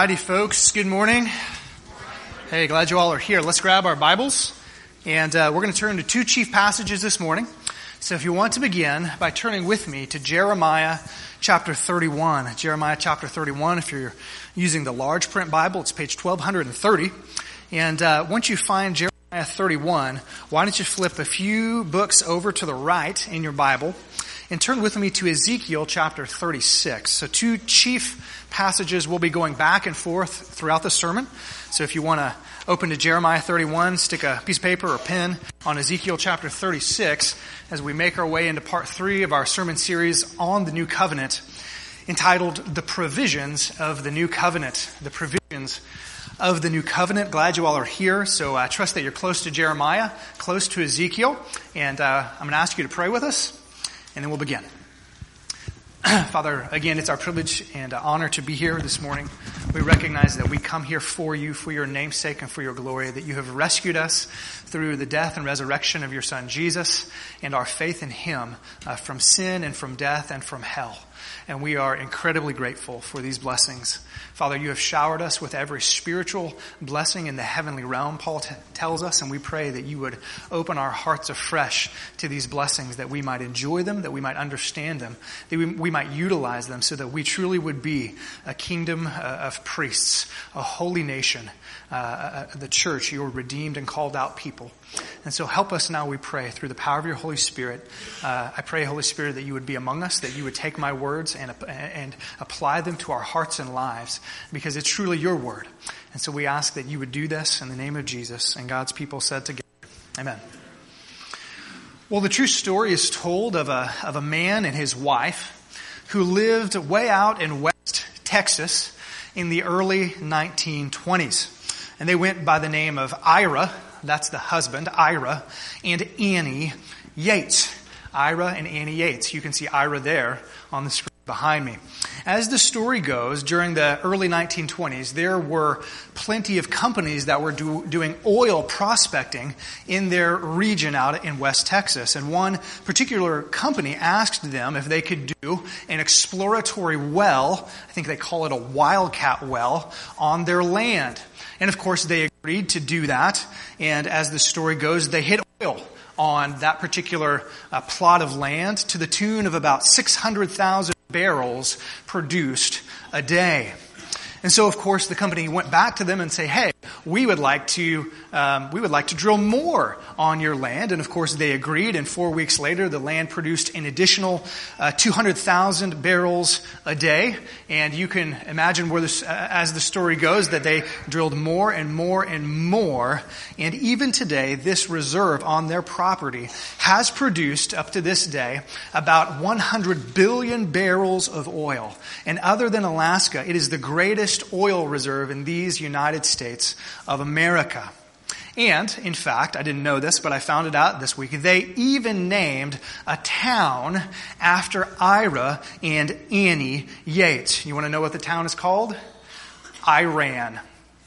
Howdy, folks. Good morning. Hey, glad you all are here. Let's grab our Bibles, and we're going to turn to two chief passages this morning. So if you want to begin by turning with me to Jeremiah chapter 31. Jeremiah chapter 31, if you're using the large print Bible, it's page 1230. And once you find Jeremiah 31, why don't you flip a few books over to the right in your Bible and turn with me to Ezekiel chapter 36. So two chief passages will be going back and forth throughout the sermon. So if you want to open to Jeremiah 31, stick a piece of paper or pen on Ezekiel chapter 36 as we make our way into part 3 of our sermon series on the New Covenant, entitled The Provisions of the New Covenant. The Provisions of the New Covenant. Glad you all are here. So I trust that you're close to Jeremiah, close to Ezekiel, and I'm going to ask you to pray with us, and then we'll begin. Father, again, it's our privilege and honor to be here this morning. We recognize that we come here for you, for your name's sake and for your glory, that you have rescued us through the death and resurrection of your Son Jesus and our faith in him from sin and from death and from hell. And we are incredibly grateful for these blessings. Father, you have showered us with every spiritual blessing in the heavenly realm, Paul tells us, and we pray that you would open our hearts afresh to these blessings, that we might enjoy them, that we might understand them, that we might utilize them so that we truly would be a kingdom of priests, a holy nation, the church, your redeemed and called out people. And so help us now, we pray, through the power of your Holy Spirit. I pray, Holy Spirit, that you would be among us, that you would take my words and apply them to our hearts and lives, because it's truly your word. And so we ask that you would do this in the name of Jesus, and God's people said together, amen. Well, the true story is told of a man and his wife who lived way out in West Texas in the early 1920s. And they went by the name of Ira, that's the husband, Ira, and Annie Yates. Ira and Annie Yates. You can see Ira there on the screen behind me. As the story goes, during the early 1920s, there were plenty of companies that were doing oil prospecting in their region out in West Texas. And one particular company asked them if they could do an exploratory well, I think they call it a wildcat well, on their land. And of course, they agreed to do that. And as the story goes, they hit oil on that particular plot of land to the tune of about 600,000 barrels produced a day. And so, of course, the company went back to them and say, "Hey, we would like to drill more on your land." And of course, they agreed. And 4 weeks later, the land produced an additional 200,000 barrels a day. And you can imagine where this, as the story goes, that they drilled more and more and more. And even today, this reserve on their property has produced, up to this day, about 100 billion barrels of oil. And other than Alaska, it is the greatest oil reserve in these United States of America. And, in fact, I didn't know this, but I found it out this week. They even named a town after Ira and Annie Yates. You want to know what the town is called? Iran.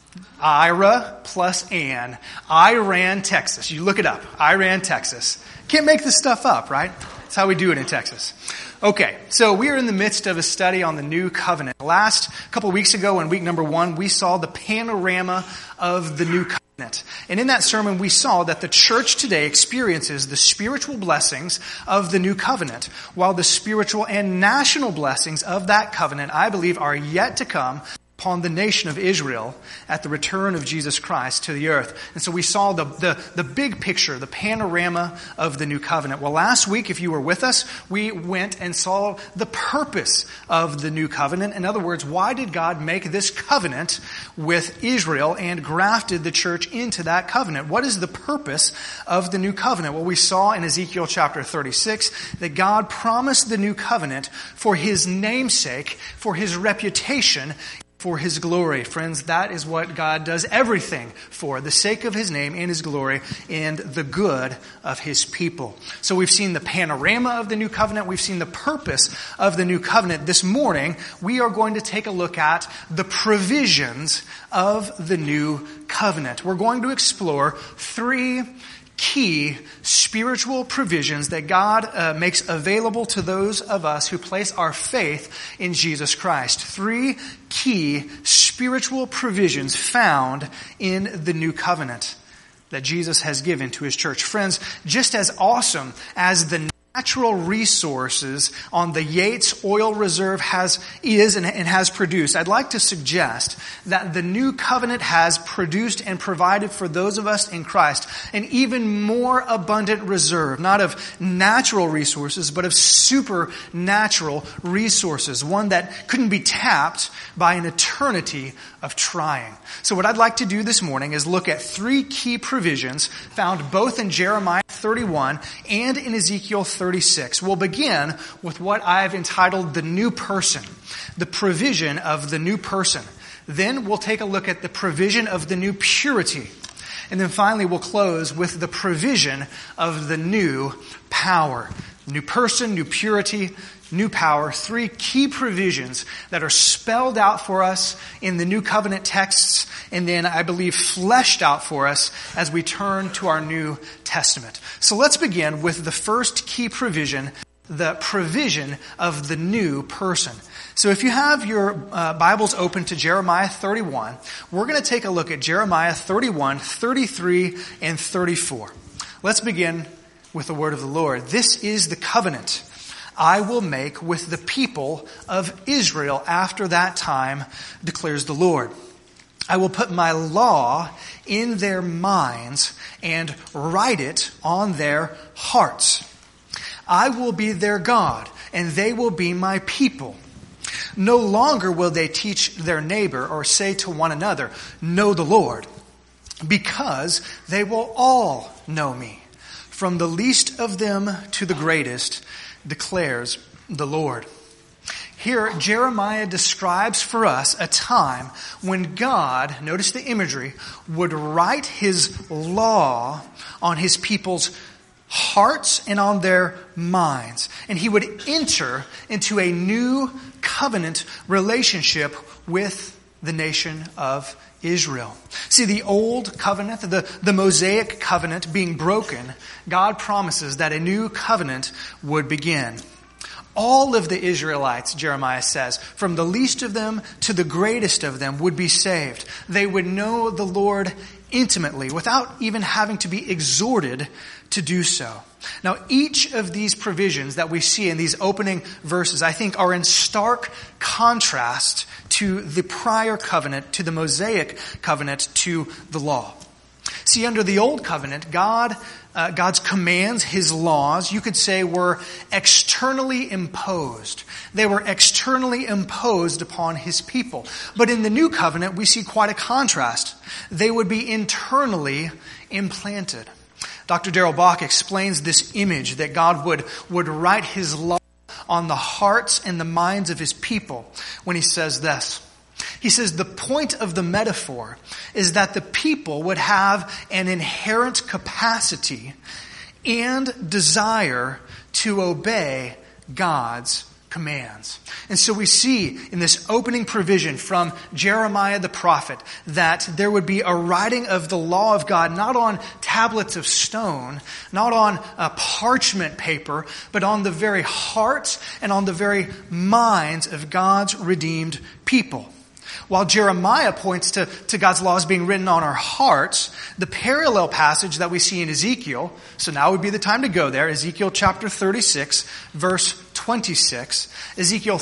Ira plus Ann. Iran, Texas. You look it up. Iran, Texas. Can't make this stuff up, right? That's how we do it in Texas. Okay, so we are in the midst of a study on the New Covenant. Last couple of weeks ago, in week number 1, we saw the panorama of the New Covenant. And in that sermon, we saw that the church today experiences the spiritual blessings of the New Covenant, while the spiritual and national blessings of that covenant, I believe, are yet to come upon the nation of Israel at the return of Jesus Christ to the earth. And so we saw the big picture, the panorama of the New Covenant. Well, last week, if you were with us, we went and saw the purpose of the New Covenant. In other words, why did God make this covenant with Israel and grafted the church into that covenant? What is the purpose of the New Covenant? Well, we saw in Ezekiel chapter 36 that God promised the New Covenant for his namesake, for his reputation, for his glory. Friends, that is what God does everything for, the sake of his name and his glory and the good of his people. So we've seen the panorama of the New Covenant. We've seen the purpose of the New Covenant. This morning, we are going to take a look at the provisions of the New Covenant. We're going to explore 3 key spiritual provisions that God makes available to those of us who place our faith in Jesus Christ. 3 key spiritual spiritual provisions found in the new covenant that Jesus has given to his church. Friends, just as awesome as the natural resources on the Yates Oil Reserve is and has produced, I'd like to suggest that the new covenant has produced and provided for those of us in Christ an even more abundant reserve, not of natural resources, but of supernatural resources, one that couldn't be tapped by an eternity of trying. So what I'd like to do this morning is look at three key provisions found both in Jeremiah 31 and in Ezekiel 36. We'll begin with what I've entitled the new person, the provision of the new person. Then we'll take a look at the provision of the new purity. And then finally we'll close with the provision of the new power. New person, new purity, new power. Three key provisions that are spelled out for us in the new covenant texts, and then I believe fleshed out for us as we turn to our New Testament. So let's begin with the first key provision, the provision of the new person. So if you have your Bibles open to Jeremiah 31, we're going to take a look at Jeremiah 31, 33, and 34. Let's begin with the word of the Lord. This is the covenant I will make with the people of Israel after that time, declares the Lord. I will put my law in their minds and write it on their hearts. I will be their God, and they will be my people. No longer will they teach their neighbor or say to one another, know the Lord, because they will all know me, from the least of them to the greatest, declares the Lord. Here, Jeremiah describes for us a time when God, notice the imagery, would write his law on his people's hearts and on their minds. And he would enter into a new covenant relationship with the nation of Israel. See, the old covenant, the Mosaic covenant being broken, God promises that a new covenant would begin. All of the Israelites, Jeremiah says, from the least of them to the greatest of them would be saved. They would know the Lord intimately without even having to be exhorted to do so. Now, each of these provisions that we see in these opening verses, I think, are in stark contrast to the prior covenant, to the Mosaic covenant, to the law. See, under the old covenant, God's commands, his laws, you could say, were externally imposed. They were externally imposed upon his people. But in the new covenant, we see quite a contrast. They would be internally implanted. Dr. Darrell Bock explains this image that God would write his law on the hearts and the minds of his people when he says this. He says the point of the metaphor is that the people would have an inherent capacity and desire to obey God's commands. And so we see in this opening provision from Jeremiah the prophet that there would be a writing of the law of God, not on tablets of stone, not on parchment paper, but on the very hearts and on the very minds of God's redeemed people. While Jeremiah points to God's laws being written on our hearts, the parallel passage that we see in Ezekiel, so now would be the time to go there, Ezekiel chapter 36, verse 26, Ezekiel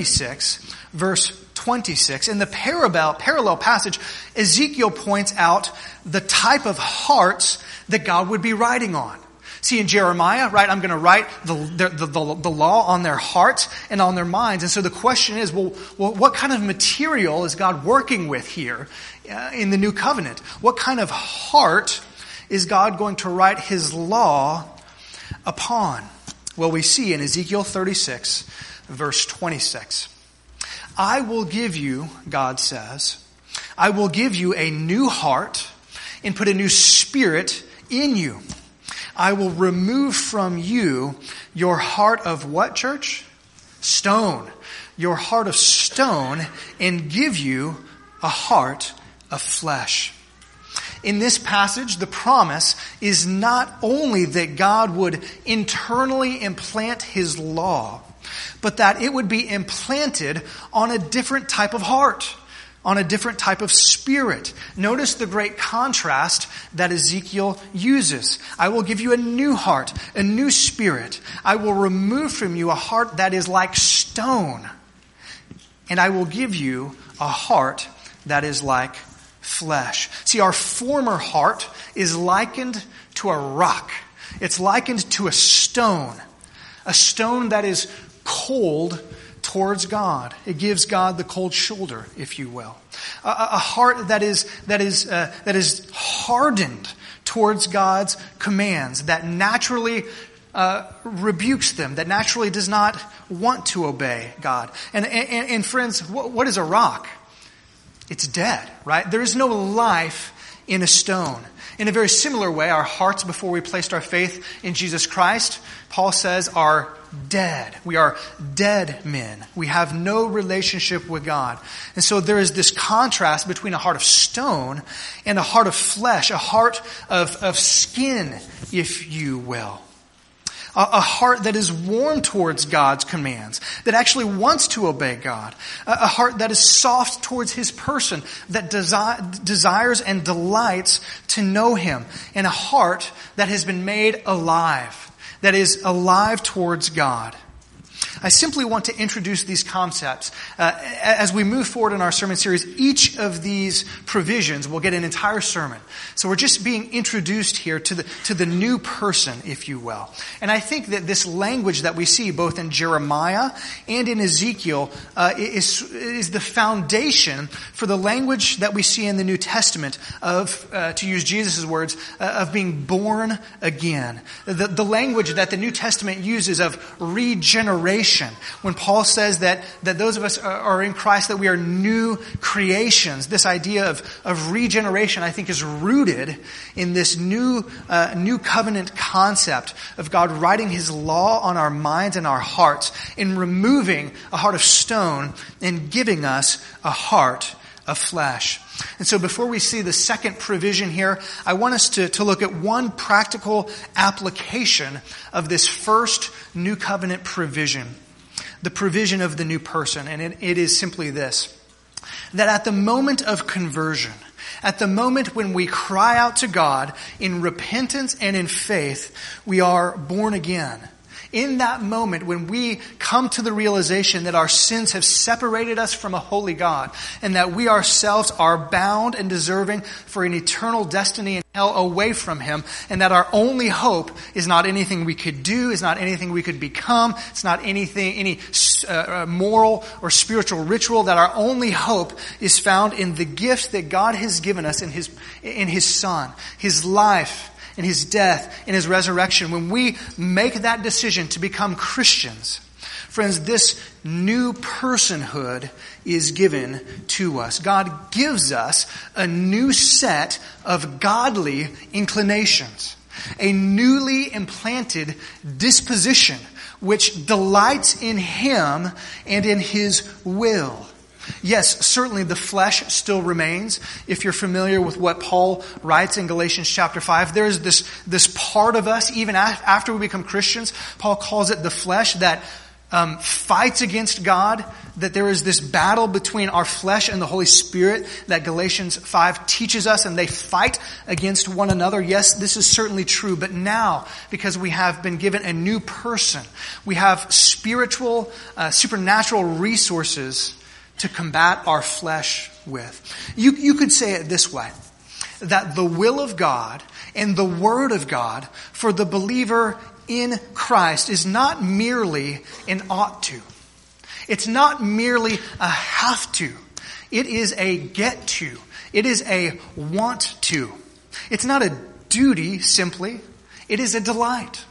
36, verse 26. In the parallel passage, Ezekiel points out the type of hearts that God would be writing on. See, in Jeremiah, right, I'm going to write the law on their hearts and on their minds. And so the question is, well, what kind of material is God working with here in the new covenant? What kind of heart is God going to write his law upon? Well, we see in Ezekiel 36, verse 26. I will give you, God says, I will give you a new heart and put a new spirit in you. I will remove from you your heart of what, church? Stone. Your heart of stone, and give you a heart of flesh. In this passage, the promise is not only that God would internally implant his law, but that it would be implanted on a different type of heart. on a different type of spirit. Notice the great contrast that Ezekiel uses. I will give you a new heart, a new spirit. I will remove from you a heart that is like stone, and I will give you a heart that is like flesh. See, our former heart is likened to a rock. It's likened to a stone that is cold towards God. It gives God the cold shoulder, if you will. A heart that is hardened towards God's commands, that naturally rebukes them, that naturally does not want to obey God. And friends, what is a rock? It's dead, right? There is no life in a stone. In a very similar way, our hearts, before we placed our faith in Jesus Christ, Paul says, are dead. We are dead men. We have no relationship with God. And so there is this contrast between a heart of stone and a heart of flesh, a heart of skin, if you will. A heart that is warm towards God's commands, that actually wants to obey God. A heart that is soft towards His person, that desires and delights to know Him. And a heart that has been made alive, that is alive towards God. I simply want to introduce these concepts. As we move forward in our sermon series, each of these provisions will get an entire sermon. So we're just being introduced here to the new person, if you will. And I think that this language that we see both in Jeremiah and in Ezekiel is the foundation for the language that we see in the New Testament of, to use Jesus' words, of being born again. The language that the New Testament uses of regeneration. When Paul says that those of us are in Christ, that we are new creations, this idea of regeneration, I think, is rooted in this new covenant concept of God writing His law on our minds and our hearts, in removing a heart of stone and giving us a heart of flesh. And so before we see the second provision here, I want us to look at one practical application of this first new covenant provision, the provision of the new person. And it is simply this, that at the moment of conversion, at the moment when we cry out to God in repentance and in faith, we are born again. In that moment when we come to the realization that our sins have separated us from a holy God, and that we ourselves are bound and deserving for an eternal destiny in hell away from Him, and that our only hope is not anything we could do, is not anything we could become, it's not any moral or spiritual ritual, that our only hope is found in the gift that God has given us in His Son, His life, in His death, in His resurrection. When we make that decision to become Christians, friends, this new personhood is given to us. God gives us a new set of godly inclinations, a newly implanted disposition which delights in Him and in His will. Yes, certainly the flesh still remains. If you're familiar with what Paul writes in Galatians chapter 5, there's this part of us, even after we become Christians, Paul calls it the flesh, that fights against God, that there is this battle between our flesh and the Holy Spirit that Galatians 5 teaches us, and they fight against one another. Yes, this is certainly true, but now, because we have been given a new person, we have spiritual, supernatural resources to combat our flesh with. You could say it this way, that the will of God and the Word of God for the believer in Christ is not merely an ought to. It's not merely a have to. It is a get to. It is a want to. It's not a duty simply. It is a delight.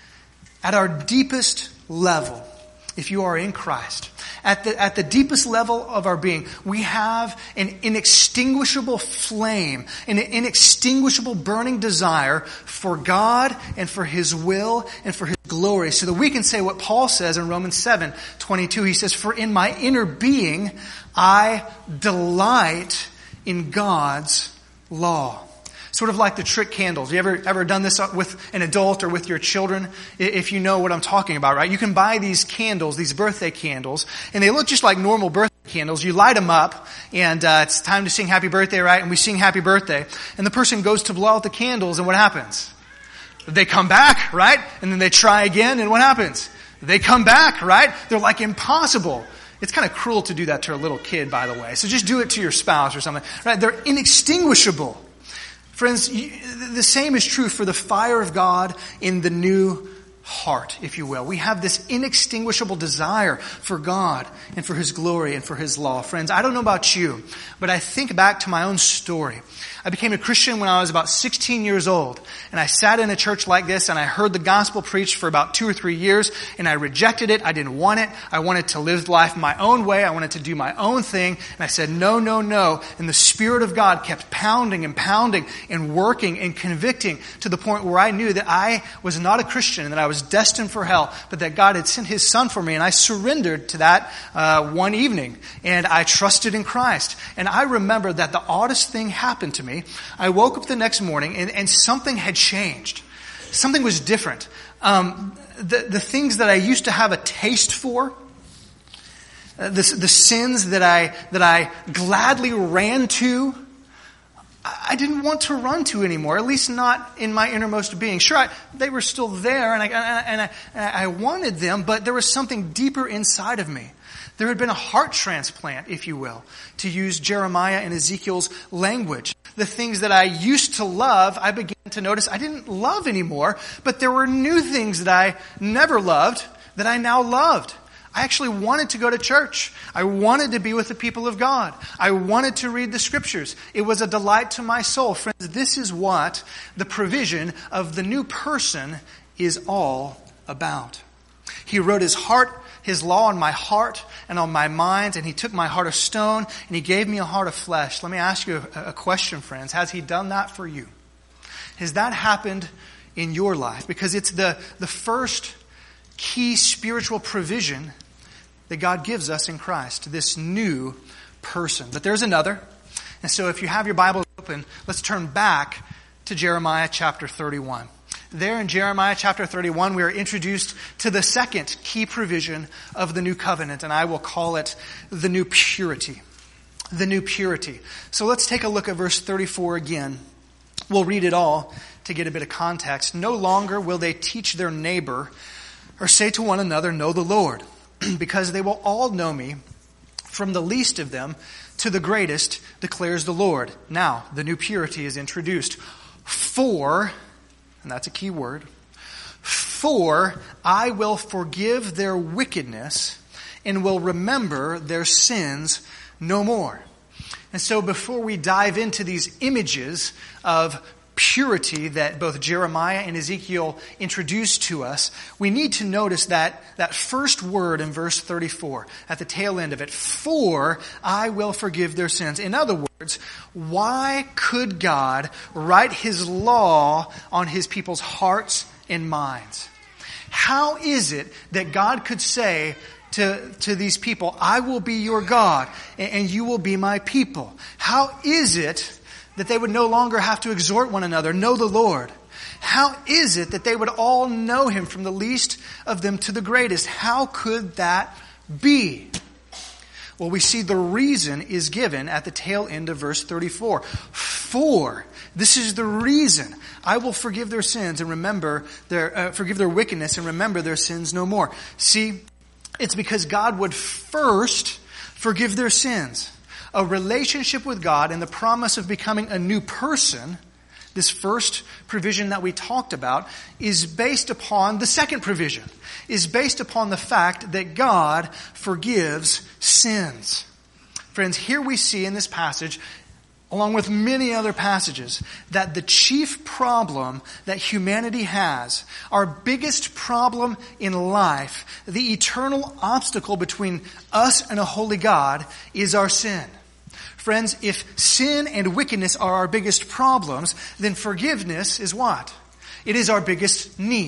At our deepest level, if you are in Christ, at the deepest level of our being, we have an inextinguishable flame, an inextinguishable burning desire for God and for His will and for His glory, so that we can say what Paul says in Romans 7:22. He says, "For in my inner being I delight in God's law." Sort of like the trick candles. You ever done this with an adult or with your children? If you know what I'm talking about, right? You can buy these candles, these birthday candles, and they look just like normal birthday candles. You light them up, and it's time to sing happy birthday, right? And we sing happy birthday. And the person goes to blow out the candles, and what happens? They come back, right? And then they try again, and what happens? They come back, right? They're like impossible. It's kind of cruel to do that to a little kid, by the way. So just do it to your spouse or something, right? They're inextinguishable. Friends, the same is true for the fire of God in the new heart, if you will. We have this inextinguishable desire for God and for His glory and for His law. Friends, I don't know about you, but I think back to my own story. I became a Christian when I was about 16 years old, and I sat in a church like this, and I heard the gospel preached for about 2 or 3 years, and I rejected it. I didn't want it. I wanted to live life my own way. I wanted to do my own thing, and I said, no, no, no. And the Spirit of God kept pounding and pounding and working and convicting to the point where I knew that I was not a Christian and that I was destined for hell, but that God had sent His Son for me, and I surrendered to that one evening, and I trusted in Christ. And I remember that the oddest thing happened to me. I woke up the next morning and something had changed. Something was different. The things that I used to have a taste for, the sins that I gladly ran to, I didn't want to run to anymore, at least not in my innermost being. Sure, they were still there, and I wanted them, but there was something deeper inside of me. There had been a heart transplant, if you will, to use Jeremiah and Ezekiel's language. The things that I used to love, I began to notice I didn't love anymore, but there were new things that I never loved that I now loved. I actually wanted to go to church. I wanted to be with the people of God. I wanted to read the Scriptures. It was a delight to my soul. Friends, this is what the provision of the new person is all about. He wrote His law on my heart and on my mind, and He took my heart of stone and He gave me a heart of flesh. Let me ask you a question, friends. Has He done that for you? Has that happened in your life? Because it's the first key spiritual provision that God gives us in Christ, this new person. But there's another. And so if you have your Bible open, let's turn back to Jeremiah chapter 31. There in Jeremiah chapter 31, we are introduced to the second key provision of the new covenant, and I will call it the new purity. The new purity. So let's take a look at verse 34 again. We'll read it all to get a bit of context. No longer will they teach their neighbor or say to one another, know the Lord, because they will all know me, from the least of them to the greatest, declares the Lord. Now, the new purity is introduced. For, and that's a key word, for I will forgive their wickedness and will remember their sins no more. And so before we dive into these images of purity that both Jeremiah and Ezekiel introduced to us, we need to notice that first word in verse 34, at the tail end of it, for I will forgive their sins. In other words, why could God write His law on His people's hearts and minds? How is it that God could say to these people, I will be your God and you will be my people? How is it that they would no longer have to exhort one another, know the Lord? How is it that they would all know Him, from the least of them to the greatest? How could that be? Well, we see the reason is given at the tail end of verse 34. For, this is the reason, I will forgive their sins and forgive their wickedness and remember their sins no more. See, it's because God would first forgive their sins. A relationship with God and the promise of becoming a new person, this first provision that we talked about, is based upon the second provision, is based upon the fact that God forgives sins. Friends, here we see in this passage, along with many other passages, that the chief problem that humanity has, our biggest problem in life, the eternal obstacle between us and a holy God, is our sin. Friends, if sin and wickedness are our biggest problems, then forgiveness is what? It is our biggest need.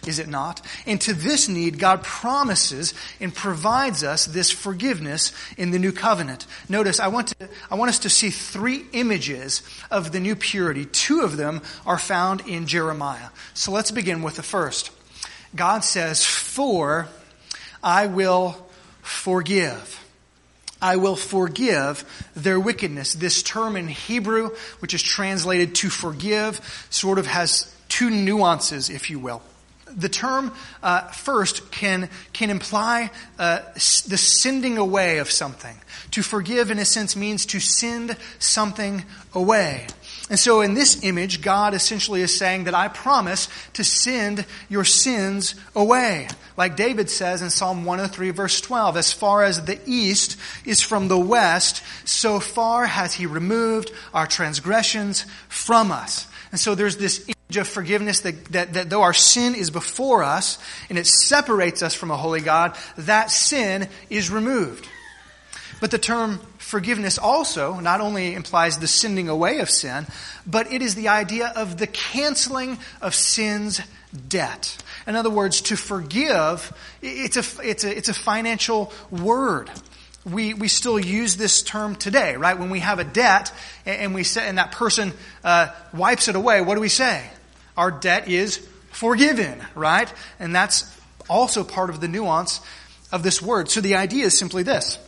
is it not? And to this need, God promises and provides us this forgiveness in the new covenant. Notice, I want us to see three images of the new purity. Two of them are found in Jeremiah. So let's begin with the first. God says, "For I will forgive. I will forgive their wickedness." This term in Hebrew, which is translated to forgive, sort of has two nuances, if you will. The term first can imply the sending away of something. To forgive, in a sense, means to send something away. And so in this image, God essentially is saying that I promise to send your sins away. Like David says in Psalm 103, verse 12, "As far as the east is from the west, so far has he removed our transgressions from us." And so there's this image of forgiveness that though our sin is before us and it separates us from a holy God, that sin is removed. But the term forgiveness also not only implies the sending away of sin, but it is the idea of the canceling of sin's debt. In other words, to forgive, it's a financial word. We still use this term today, right? When we have a debt and that person wipes it away, what do we say? Our debt is forgiven, right? And that's also part of the nuance of this word. So the idea is simply this.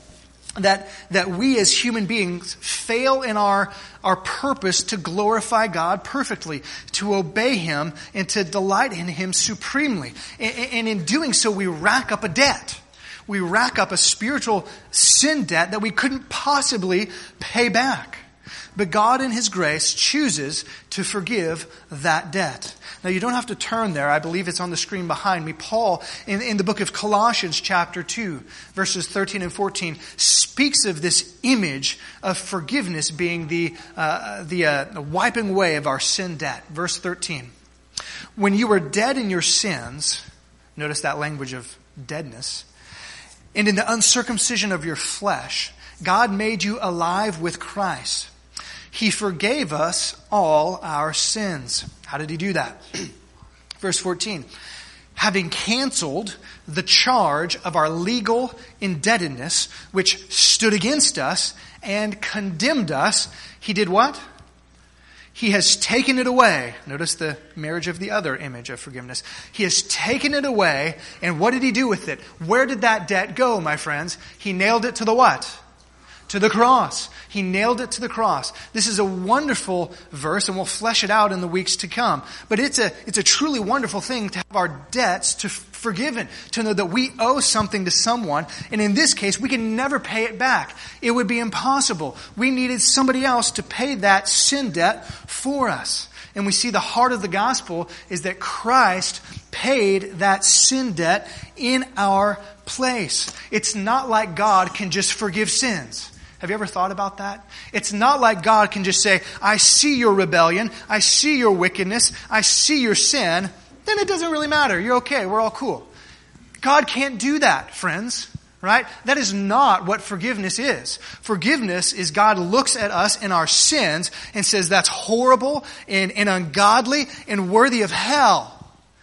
That we as human beings fail in our purpose to glorify God perfectly, to obey Him, and to delight in Him supremely. And in doing so, we rack up a debt. We rack up a spiritual sin debt that we couldn't possibly pay back. But God in His grace chooses to forgive that debt. Now you don't have to turn there. I believe it's on the screen behind me. Paul, in the book of Colossians chapter 2, verses 13 and 14, speaks of this image of forgiveness being the wiping away of our sin debt. Verse 13. "When you were dead in your sins," notice that language of deadness, "and in the uncircumcision of your flesh, God made you alive with Christ. He forgave us all our sins." How did He do that? Verse 14. "Having canceled the charge of our legal indebtedness, which stood against us and condemned us," He did what? He has taken it away. Notice the marriage of the other image of forgiveness. He has taken it away, and what did He do with it? Where did that debt go, my friends? He nailed it to the what? To the cross. He nailed it to the cross. This is a wonderful verse, and we'll flesh it out in the weeks to come. But it's a truly wonderful thing to have our debts forgiven, to know that we owe something to someone, and in this case, we can never pay it back. It would be impossible. We needed somebody else to pay that sin debt for us. And we see the heart of the gospel is that Christ paid that sin debt in our place. It's not like God can just forgive sins. Have you ever thought about that? It's not like God can just say, "I see your rebellion, I see your wickedness, I see your sin, then it doesn't really matter. You're okay, we're all cool." God can't do that, friends, right? That is not what forgiveness is. Forgiveness is God looks at us and our sins and says, "That's horrible and ungodly and worthy of hell.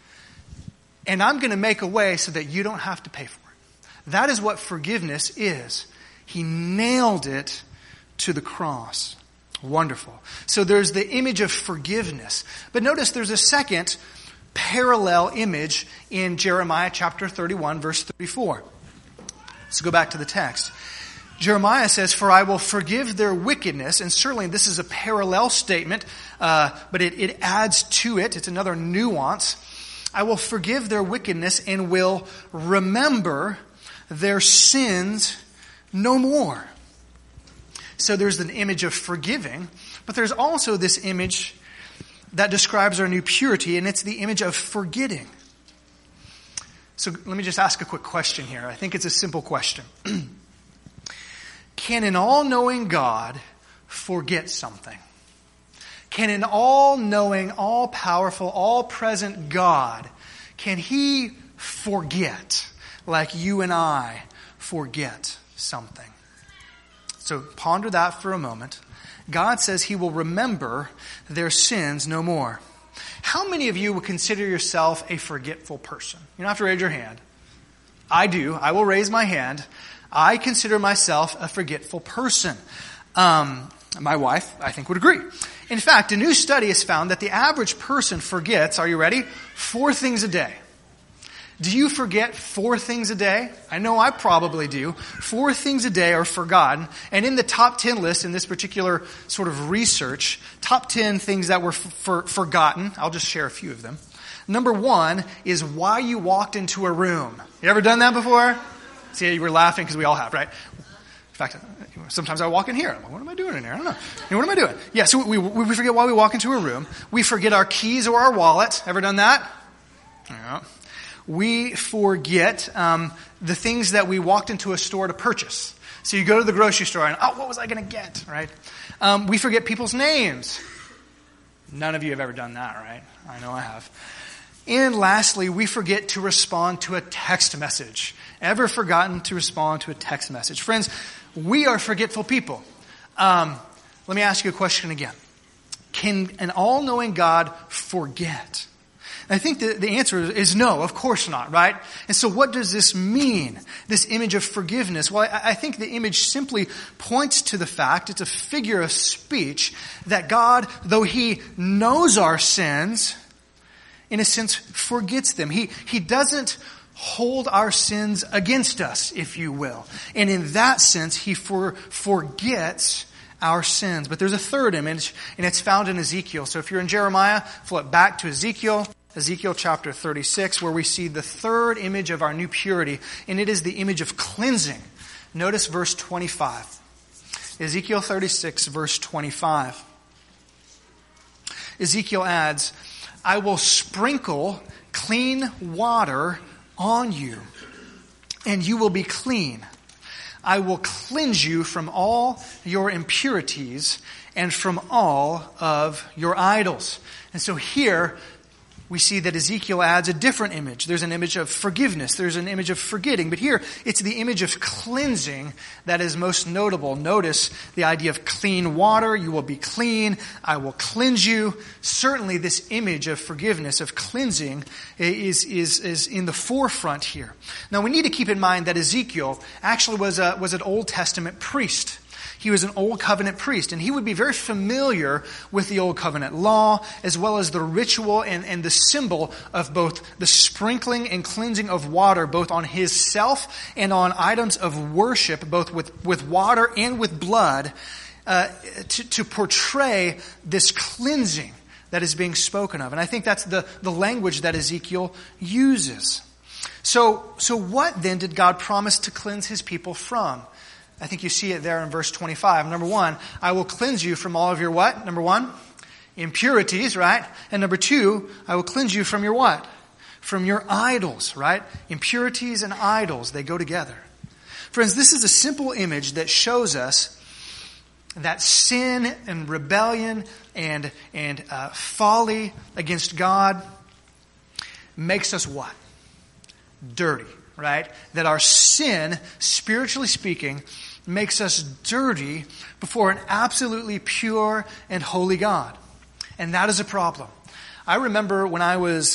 And I'm going to make a way so that you don't have to pay for it." That is what forgiveness is. He nailed it to the cross. Wonderful. So there's the image of forgiveness. But notice there's a second parallel image in Jeremiah chapter 31, verse 34. Let's go back to the text. Jeremiah says, "For I will forgive their wickedness," and certainly this is a parallel statement, but it adds to it. It's another nuance. "I will forgive their wickedness and will remember their sins no more." So there's an image of forgiving, but there's also this image that describes our new purity, and it's the image of forgetting. So let me just ask a quick question here. I think it's a simple question. Can an all-knowing God forget something? Can an all-knowing, all-powerful, all-present God, can He forget like you and I forget something? So ponder that for a moment. God says He will remember their sins no more. How many of you would consider yourself a forgetful person? You don't have to raise your hand. I do. I will raise my hand. I consider myself a forgetful person. My wife, I think, would agree. In fact, a new study has found that the average person forgets, are you ready, 4 things a day. Do you forget 4 things a day? I know I probably do. 4 things a day are forgotten. And in the top 10 list, in this particular sort of research, top 10 things that were forgotten, I'll just share a few of them. Number 1 is why you walked into a room. You ever done that before? See, you were laughing because we all have, right? In fact, sometimes I walk in here. I'm like, what am I doing in here? I don't know. What am I doing? Yeah, so we forget why we walk into a room. We forget our keys or our wallet. Ever done that? Yeah. We forget the things that we walked into a store to purchase. So you go to the grocery store and, what was I going to get, right? We forget people's names. None of you have ever done that, right? I know I have. And lastly, we forget to respond to a text message. Ever forgotten to respond to a text message? Friends, we are forgetful people. Let me ask you a question again. Can an all-knowing God forget? I think the answer is no, of course not, right? And so what does this mean, this image of forgiveness? Well, I think the image simply points to the fact, it's a figure of speech, that God, though He knows our sins, in a sense forgets them. He doesn't hold our sins against us, if you will. And in that sense, He forgets our sins. But there's a third image, and it's found in Ezekiel. So if you're in Jeremiah, flip back to Ezekiel chapter 36, where we see the third image of our new purity, and it is the image of cleansing. Notice verse 25. Ezekiel 36, verse 25. Ezekiel adds, I will sprinkle clean water on you, and you will be clean. I will cleanse you from all your impurities and from all of your idols. And so here, we see that Ezekiel adds a different image. There's an image of forgiveness. There's an image of forgetting. But here, it's the image of cleansing that is most notable. Notice the idea of clean water. You will be clean. I will cleanse you. Certainly, this image of forgiveness, of cleansing, is in the forefront here. Now, we need to keep in mind that Ezekiel actually was an Old Testament priest. He was an Old Covenant priest, and he would be very familiar with the Old Covenant law, as well as the ritual and the symbol of both the sprinkling and cleansing of water, both on himself and on items of worship, both with water and with blood, to portray this cleansing that is being spoken of. And I think that's the language that Ezekiel uses. So what then did God promise to cleanse His people from? I think you see it there in verse 25. Number 1, I will cleanse you from all of your what? Number 1, impurities, right? And number 2, I will cleanse you from your what? From your idols, right? Impurities and idols, they go together. Friends, this is a simple image that shows us that sin and rebellion and folly against God makes us what? Dirty, right? That our sin, spiritually speaking, makes us dirty before an absolutely pure and holy God. And that is a problem. I remember when I was,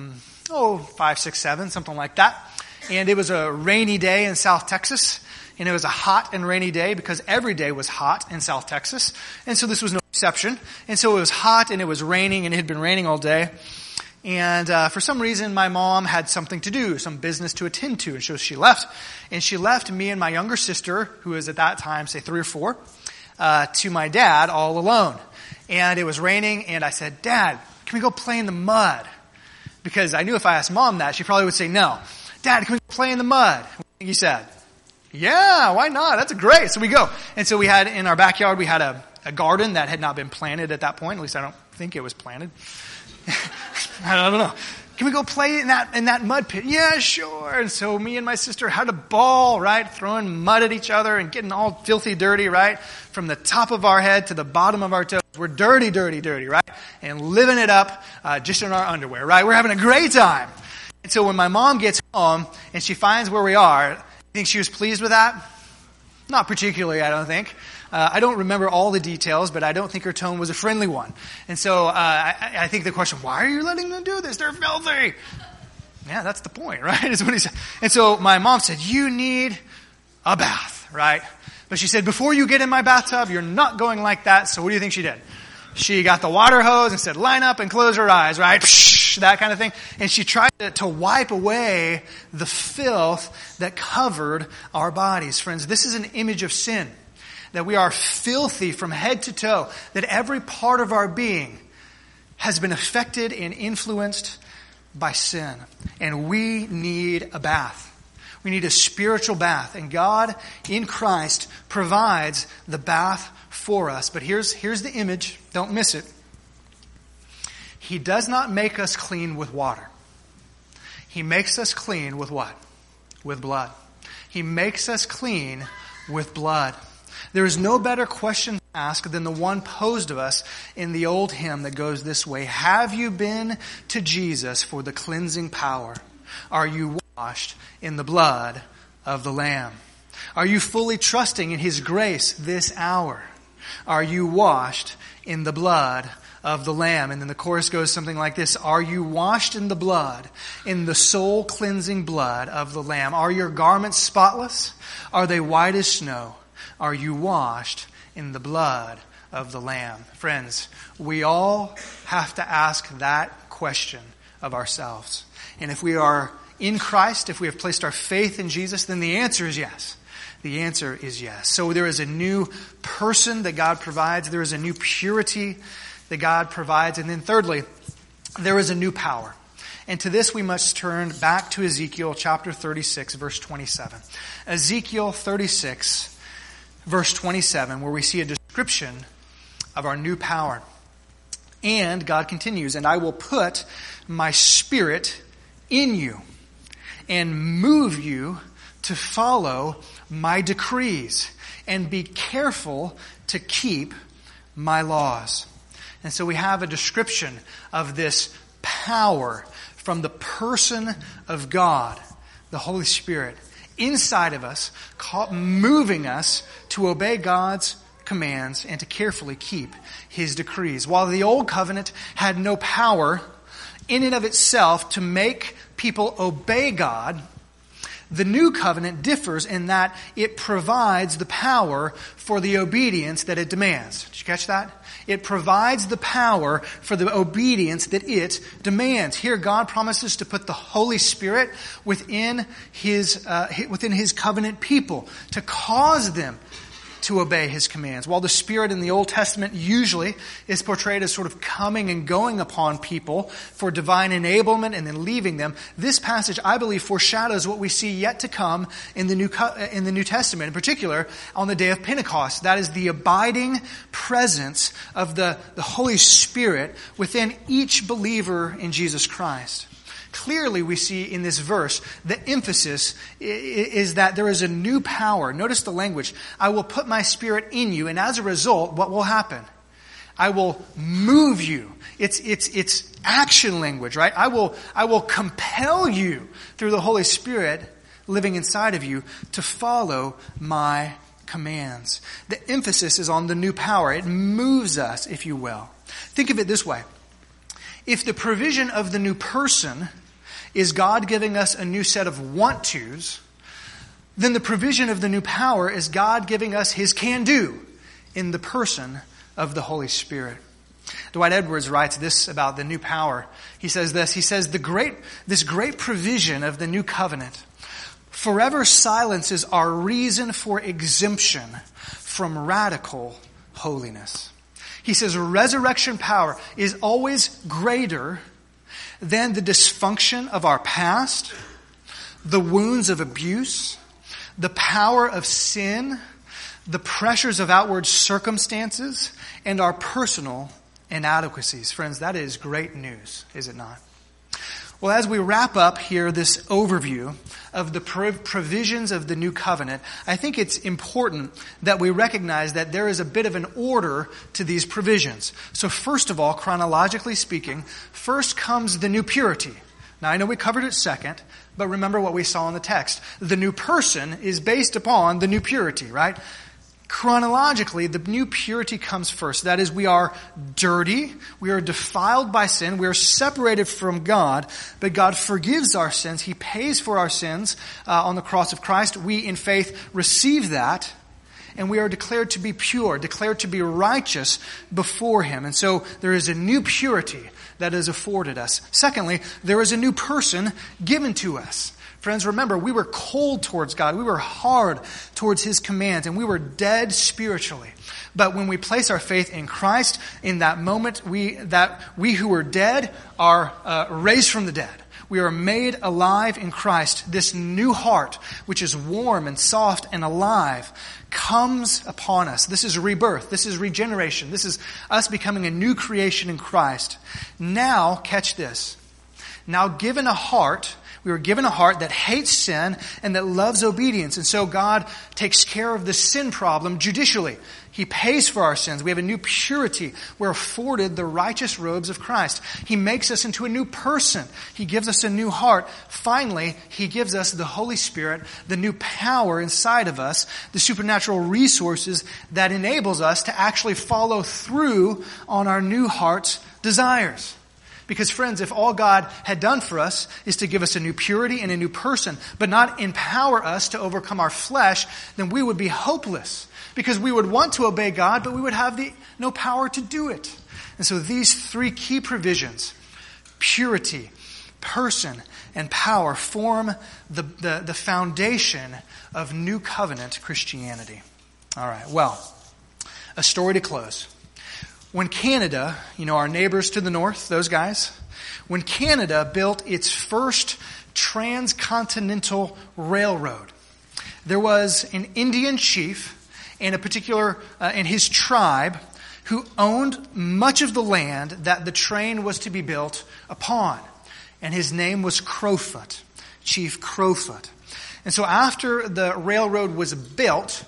5, 6, 7, something like that. And it was a rainy day in South Texas. And it was a hot and rainy day because every day was hot in South Texas. And so this was no exception. And so it was hot and it was raining, and it had been raining all day. And for some reason, my mom had something to do, some business to attend to. And so she left. And she left me and my younger sister, who was at that time, say 3 or 4, to my dad all alone. And it was raining, and I said, Dad, can we go play in the mud? Because I knew if I asked Mom that, she probably would say no. Dad, can we play in the mud? What do you think he said? Yeah, why not? That's great. So we go. And so we had, in our backyard, we had a garden that had not been planted at that point. At least I don't think it was planted. I don't know. Can we go play in that mud pit? Yeah, sure. And so me and my sister had a ball, right? Throwing mud at each other and getting all filthy dirty, right? From the top of our head to the bottom of our toes. We're dirty, dirty, dirty, right? And living it up just in our underwear, right? We're having a great time. And so when my mom gets home and she finds where we are, you think she was pleased with that? Not particularly, I don't think. I don't remember all the details, but I don't think her tone was a friendly one. And so I think the question, why are you letting them do this? They're filthy. Yeah, that's the point, right? Is what he said. And so my mom said, you need a bath, right? But she said, before you get in my bathtub, you're not going like that. So what do you think she did? She got the water hose and said, line up and close her eyes, right? Psh, that kind of thing. And she tried to wipe away the filth that covered our bodies. Friends, this is an image of sin. That we are filthy from head to toe. That every part of our being has been affected and influenced by sin. And we need a bath. We need a spiritual bath. And God, in Christ, provides the bath for us. But here's the image. Don't miss it. He does not make us clean with water. He makes us clean with what? With blood. He makes us clean with blood. There is no better question to ask than the one posed of us in the old hymn that goes this way. Have you been to Jesus for the cleansing power? Are you washed in the blood of the Lamb? Are you fully trusting in His grace this hour? Are you washed in the blood of the Lamb? And then the chorus goes something like this. Are you washed in the blood, in the soul cleansing blood of the Lamb? Are your garments spotless? Are they white as snow? Are you washed in the blood of the Lamb? Friends, we all have to ask that question of ourselves. And if we are in Christ, if we have placed our faith in Jesus, then the answer is yes. The answer is yes. So there is a new person that God provides. There is a new purity that God provides. And then thirdly, there is a new power. And to this we must turn back to Ezekiel chapter 36, verse 27. Ezekiel 36, verse 27, where we see a description of our new power. And God continues, and I will put my spirit in you and move you to follow my decrees and be careful to keep my laws. And so we have a description of this power from the person of God, the Holy Spirit, inside of us, moving us to obey God's commands and to carefully keep His decrees. While the old covenant had no power in and of itself to make people obey God, the new covenant differs in that it provides the power for the obedience that it demands. Did you catch that? It provides the power for the obedience that it demands. Here God promises to put the Holy Spirit within His covenant people, to cause them to obey His commands. While the Spirit in the Old Testament usually is portrayed as sort of coming and going upon people for divine enablement and then leaving them, this passage, I believe, foreshadows what we see yet to come in the New Testament, in particular on the day of Pentecost. That is the abiding presence of the Holy Spirit within each believer in Jesus Christ. Clearly, we see in this verse, the emphasis is that there is a new power. Notice the language. I will put my spirit in you, and as a result, what will happen? I will move you. It's action language, right? I will compel you through the Holy Spirit living inside of you to follow my commands. The emphasis is on the new power. It moves us, if you will. Think of it this way. If the provision of the new person is God giving us a new set of want-tos, then the provision of the new power is God giving us His can-do in the person of the Holy Spirit. Dwight Edwards writes this about the new power. He says this. He says, this great provision of the new covenant forever silences our reason for exemption from radical holiness. He says resurrection power is always greater than the dysfunction of our past, the wounds of abuse, the power of sin, the pressures of outward circumstances, and our personal inadequacies. Friends, that is great news, is it not? Well, as we wrap up here this overview of the provisions of the new covenant, I think it's important that we recognize that there is a bit of an order to these provisions. So first of all, chronologically speaking, first comes the new purity. Now, I know we covered it second, but remember what we saw in the text. The new person is based upon the new purity, right? chronologically, the new purity comes first. That is, we are dirty, we are defiled by sin, we are separated from God, but God forgives our sins. He pays for our sins on the cross of Christ. We, in faith, receive that, and we are declared to be pure, declared to be righteous before Him. And so there is a new purity that is afforded us. Secondly, there is a new person given to us. Friends, remember, we were cold towards God. We were hard towards His commands, and we were dead spiritually. But when we place our faith in Christ, in that moment, we who were dead are raised from the dead. We are made alive in Christ. This new heart, which is warm and soft and alive, comes upon us. This is rebirth. This is regeneration. This is us becoming a new creation in Christ. Now, catch this. Now, we were given a heart that hates sin and that loves obedience. And so God takes care of the sin problem judicially. He pays for our sins. We have a new purity. We're afforded the righteous robes of Christ. He makes us into a new person. He gives us a new heart. Finally, He gives us the Holy Spirit, the new power inside of us, the supernatural resources that enables us to actually follow through on our new heart's desires. Because friends, if all God had done for us is to give us a new purity and a new person, but not empower us to overcome our flesh, then we would be hopeless. Because we would want to obey God, but we would have no power to do it. And so these three key provisions, purity, person, and power, form the foundation of New Covenant Christianity. All right, well, a story to close. When Canada, our neighbors to the north, those guys, when Canada built its first transcontinental railroad, there was an Indian chief and and his tribe who owned much of the land that the train was to be built upon. And his name was Crowfoot, Chief Crowfoot. And so after the railroad was built,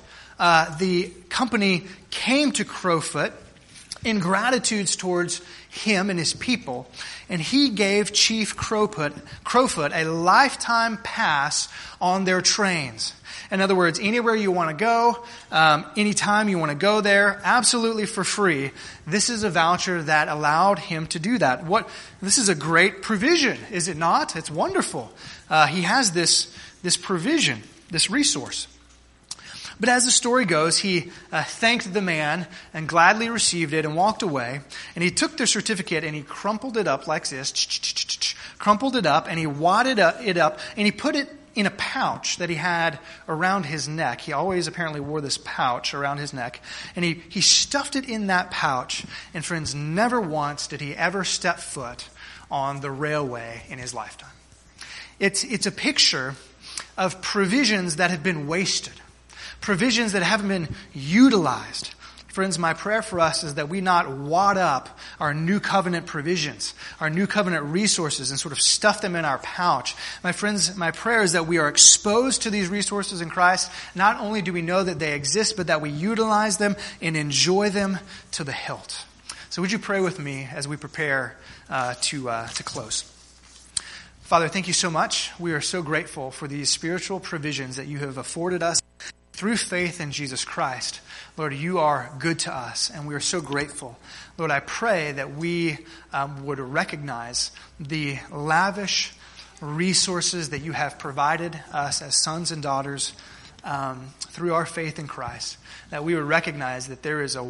the company came to Crowfoot in gratitude towards him and his people, and he gave Chief Crowfoot a lifetime pass on their trains. In other words, anywhere you want to go, anytime you want to go there, absolutely for free. This is a voucher that allowed him to do that. This is a great provision, is it not? It's wonderful. He has this provision, this resource. But as the story goes, he thanked the man and gladly received it and walked away. And he took the certificate and he crumpled it up like this, crumpled it up, and he wadded it up, and he put it in a pouch that he had around his neck. He always apparently wore this pouch around his neck. And he stuffed it in that pouch. And friends, never once did he ever step foot on the railway in his lifetime. It's a picture of provisions that have been wasted. Provisions that haven't been utilized. Friends, my prayer for us is that we not wad up our new covenant provisions, our new covenant resources, and sort of stuff them in our pouch. My friends, my prayer is that we are exposed to these resources in Christ. Not only do we know that they exist, but that we utilize them and enjoy them to the hilt. So would you pray with me as we prepare to close? Father, thank you so much. We are so grateful for these spiritual provisions that you have afforded us through faith in Jesus Christ. Lord, you are good to us, and we are so grateful. Lord, I pray that we would recognize the lavish resources that you have provided us as sons and daughters through our faith in Christ. That we would recognize that there is a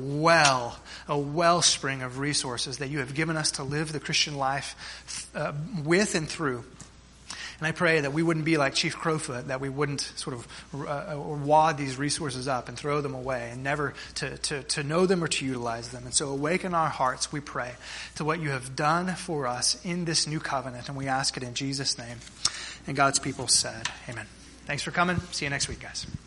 wellspring of resources that you have given us to live the Christian life with and through. And I pray that we wouldn't be like Chief Crowfoot, that we wouldn't sort of wad these resources up and throw them away and never to know them or to utilize them. And so awaken our hearts, we pray, to what you have done for us in this new covenant. And we ask it in Jesus' name. And God's people said, amen. Thanks for coming. See you next week, guys.